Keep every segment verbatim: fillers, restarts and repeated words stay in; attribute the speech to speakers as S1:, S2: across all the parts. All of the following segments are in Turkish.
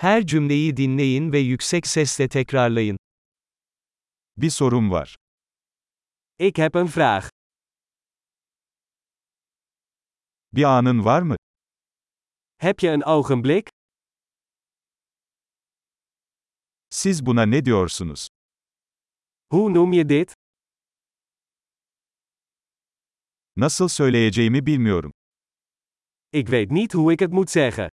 S1: Her cümleyi dinleyin ve yüksek sesle tekrarlayın.
S2: Bir sorum var.
S3: Ik heb een vraag.
S2: Bir anın var mı?
S3: Heb je een ogenblik?
S2: Siz buna ne diyorsunuz?
S3: Hoe noem je dit?
S2: Nasıl söyleyeceğimi bilmiyorum.
S3: Ik weet niet hoe ik het moet zeggen.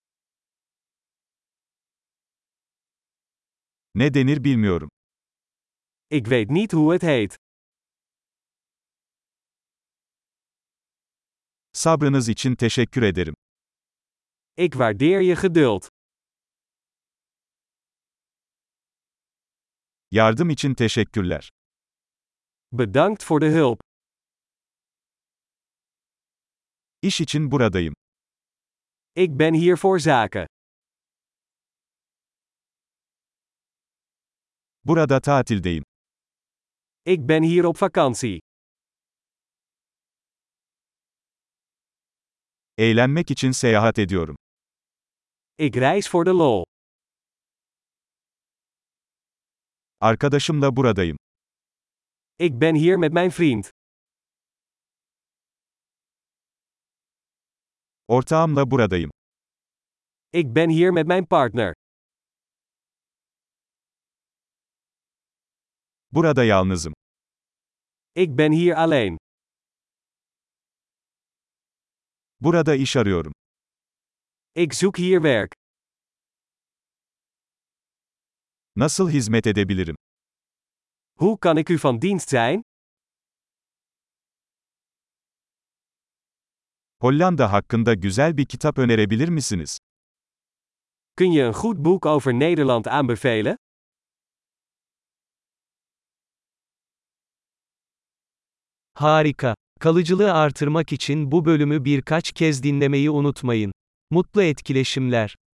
S2: Ne denir bilmiyorum.
S3: Ik weet niet hoe het heet.
S2: Sabrınız için teşekkür ederim.
S3: Ik waardeer je geduld.
S2: Yardım için teşekkürler.
S3: Bedankt voor de hulp.
S2: İş için buradayım.
S3: Ik ben hier voor zaken.
S2: Burada tatildeyim.
S3: Ik ben hier op vakantie.
S2: Eğlenmek için seyahat ediyorum.
S3: Ik reis voor de lol.
S2: Arkadaşımla buradayım.
S3: Ik ben hier met mijn vriend.
S2: Ortağımla buradayım.
S3: Ik ben hier met mijn partner.
S2: Burada yalnızım.
S3: Ik ben hier alleen.
S2: Burada iş arıyorum.
S3: Ik zoek hier werk.
S2: Nasıl hizmet edebilirim?
S3: Hoe kan ik u van dienst zijn?
S2: Hollanda hakkında güzel bir kitap önerebilir misiniz?
S3: Kun je een goed boek over Nederland aanbevelen?
S1: Harika. Kalıcılığı artırmak için bu bölümü birkaç kez dinlemeyi unutmayın. Mutlu etkileşimler.